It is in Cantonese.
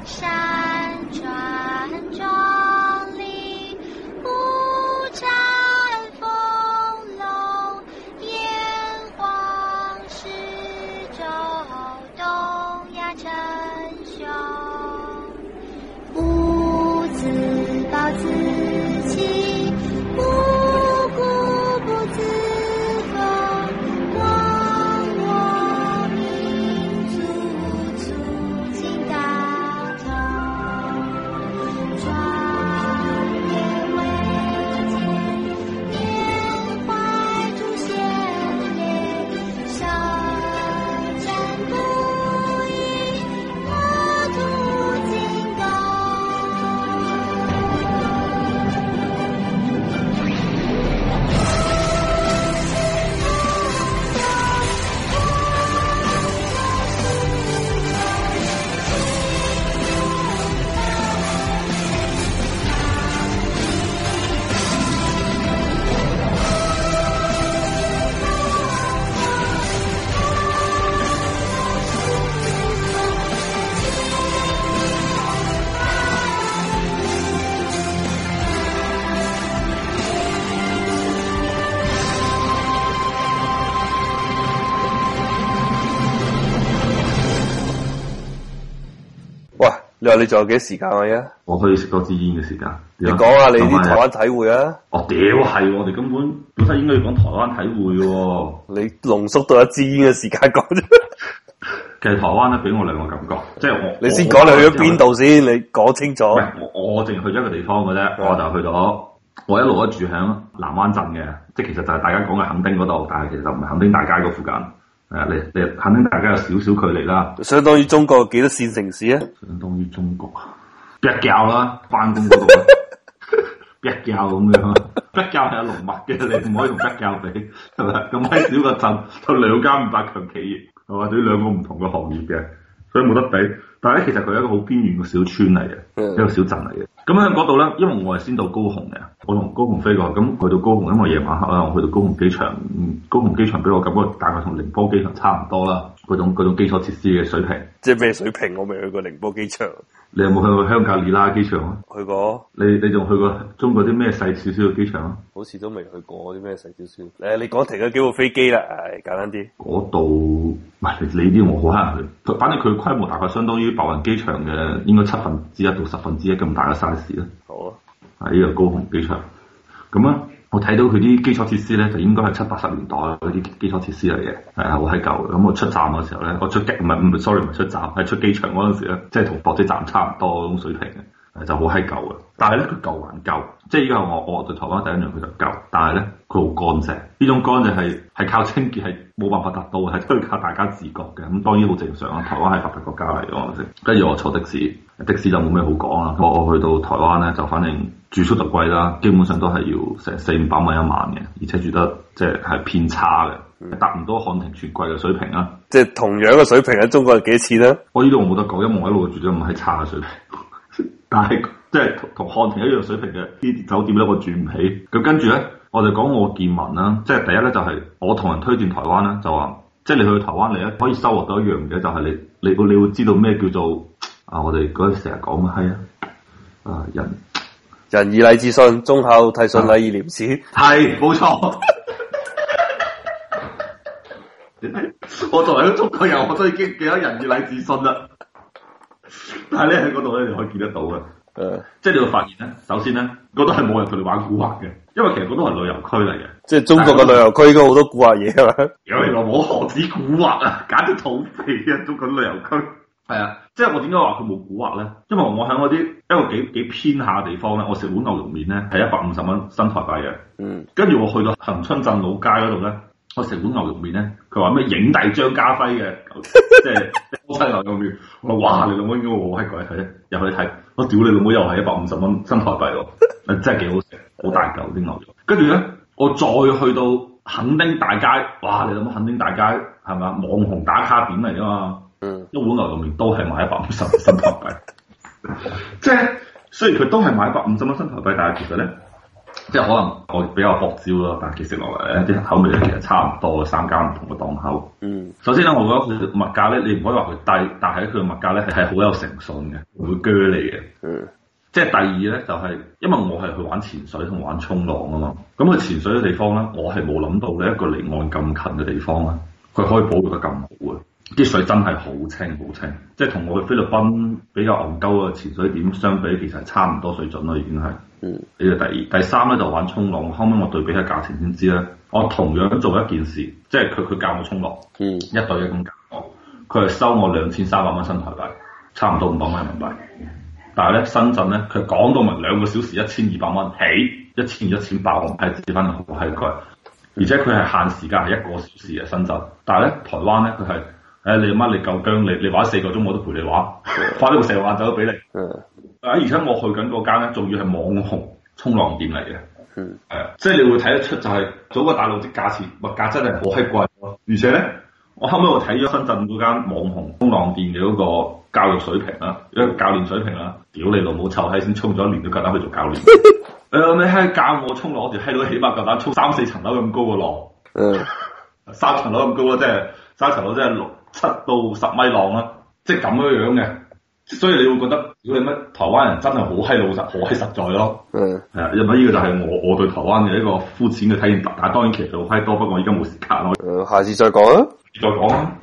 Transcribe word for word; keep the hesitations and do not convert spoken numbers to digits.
山川壮丽，五彩丰隆，炎黄始周，东亚称雄。不自暴自弃，不固不自封，忘我民族，促进大同。壮烈伟健，缅怀祖先烈，舌战不已，国土精高。 喂，你話你仲有幾多時間啊？而家我可以食多支煙嘅時間。 你講下你啲台灣體會啊！ 哦，屌係，我哋根本本身應該要講台灣體會嘅喎。 你濃縮到一支煙嘅時間講啫。 其實台灣咧俾我兩個感覺，即係我你先講你去咗邊度先，你講清楚。 唔係我我淨係去咗一個地方嘅啫，我就去咗我一路都住喺南灣鎮嘅，即係其實就係大家講嘅墾丁嗰度，但係其實就唔係墾丁大街嗰附近。係啊，你你墾丁大街有少少距離啦。 相當於中國幾多線城市啊？ 相當於中國啊，北教啦，翻工嗰度啊，北教咁樣，北教係有龍脈嘅，你唔可以同北教比，係咪？咁喺小個鎮就兩間五百強企業，係嘛？對於兩個唔同嘅行業嘅，所以冇得比。但係咧，其實佢係一個好邊緣嘅小村嚟嘅，嗯、一個小鎮嚟嘅。咁喺嗰度咧，因為我係先到高雄嘅，我同高雄飛過去，咁去到高雄，因為夜晚黑啦，我去到高雄機場，嗯，高雄機場俾我感覺大概同寧波機場差唔多啦，嗰種嗰種基礎設施嘅水平。即係咩水平？我未去過寧波機場。你有冇去過香格里拉機場啊？去過。你你仲去過中國啲咩細少少嘅機場啊？好似都未去過啲咩細少少。誒，你講停咗幾部飛機啦？誒，簡單啲。嗰度唔係你啲我好難去，反正佢規模大概相當於白雲機場嘅應該七分之一到十分之一咁大嘅 size 啦。好啊。喺呢個高雄機場。咁啊，我睇到佢啲基礎設施咧，就應該係七八十年代嗰啲基礎設施嚟嘅，係啊，好閪舊嘅。咁我出站嘅時候咧，我出機唔係唔係 sorry 唔係出站，係出機場嗰陣時咧，即係同駁機站差唔多嗰種水平嘅，就好閪舊嘅。但係咧，佢舊還舊，即係依家我我對台灣第一樣佢就舊，但係咧佢好乾淨。呢種乾淨係係靠清潔係冇辦法達到，係都要靠大家自覺嘅。咁當然好正常啊，台灣係發達國家嚟嘅，我先。跟住我坐的士，的士就冇咩好講啦。我我去到台灣咧，就反正住宿就貴啦，基本上都係要成四五百蚊一晚嘅，而且住得即係係偏差嘅，達唔到漢庭全貴嘅水平啊。即係同樣嘅水平喺中國係幾錢咧？我呢度我冇得講，因為我一路住咗唔係差嘅水平。但係即係同同漢庭一樣水平嘅啲酒店咧，我住唔起。咁跟住咧，我就講我見聞啦。即係第一咧，就係、是、我同人推薦台灣咧，就話即係你去台灣嚟咧，可以收穫到一樣嘢，就係、是、你你會你會知道咩叫做啊！我哋嗰陣成日講嘅係啊，啊人仁義禮智信，忠孝悌順禮義廉恥，係冇錯。我作為一個中國人，我都已經記得仁義禮智信啦。但係咧喺嗰度咧，你可以見得到嘅。誒、嗯，即係你會發現咧，首先咧，嗰度係冇人同你玩古惑嘅，因為其實嗰度係旅遊區嚟嘅。即係中國嘅旅遊區，應該好多古惑嘢係咪？有你話冇何止古惑啊，簡直土匪啊！中國旅遊區係啊，即係我點解話佢冇古惑咧？因為我喺嗰啲一個幾幾偏下嘅地方咧，我食碗牛肉麵咧係一百五十蚊新台幣嘅。嗯，跟住我去到恆春鎮老街嗰度咧。我食碗牛肉麵咧，佢話咩影帝張家輝嘅，即係波西牛肉麵。我話哇，你老母應該好閪貴睇，入去睇，我屌你老母又係一百五十蚊新台幣喎，真係幾好食，好大嚿啲牛肉。跟住咧，我再去到墾丁大街，哇！你諗下墾丁大街係咪網紅打卡點嚟㗎嘛？嗯，一碗牛肉麵都係賣一百五十蚊新台幣，即係雖然佢都係賣一百五十蚊新台幣，但係其實咧。 即係可能我比較薄招咯，但係其實落嚟咧啲口味咧其實差唔多，三間唔同嘅檔口。 嗯， 首先咧，我覺得佢物價咧，你唔可以話佢低，但係佢嘅物價咧係好有誠信嘅，唔會鋸你嘅。 嗯。 即係第二咧，就係、是、因為我係去玩潛水同玩衝浪啊嘛，咁佢潛水嘅地方咧，我係冇諗到咧一個離岸咁近嘅地方咧，佢可以保育得咁好嘅，啲水真係好清好清，即係同我去菲律賓比較戇鳩嘅潛水點相比，其實係差唔多水準咯，已經係。嗯。呢個第二，第三咧就玩衝浪，後尾我對比下價錢先知咧，我同樣做一件事，即係佢佢教我衝浪，嗯，一對一咁教我，佢係收我兩千三百蚊新台幣，差唔多五百蚊人民幣。但係咧，深圳咧，佢講到明兩個小時一千二百蚊起，一千二一千八，我係自翻好閪貴，而且佢係限時間係一個小時嘅深圳。但係咧，台灣咧佢係，誒、哎、你媽你夠姜，你你玩四個鐘我都陪你玩，花呢個成個晏晝都俾你。嗯。啊！而且我去緊嗰間咧，仲要係網紅衝浪店嚟嘅。嗯。係啊，即係你會睇得出就係祖國大陸啲價錢物價真係好閪貴咯。而且咧，我後尾我睇咗深圳嗰間網紅衝浪店嘅嗰個教育水平啦，一個教練水平啦，屌你老母臭閪先衝咗一年都夠膽去做教練。誒、呃，你閪教我衝浪，我條閪佬起碼夠膽衝三四層樓咁高嘅浪。嗯。三層樓咁高啊，即係三層樓即係六七到十米浪啦，即係咁樣樣嘅。所以你會覺得，如果你乜台灣人真係好閪老實，好閪實在咯。嗯。係啊，因為呢個就係我我對台灣嘅一個膚淺嘅體驗。但係當然其實好閪多，不過我而家冇時間咯。誒、嗯，下次再講啊。再講啊。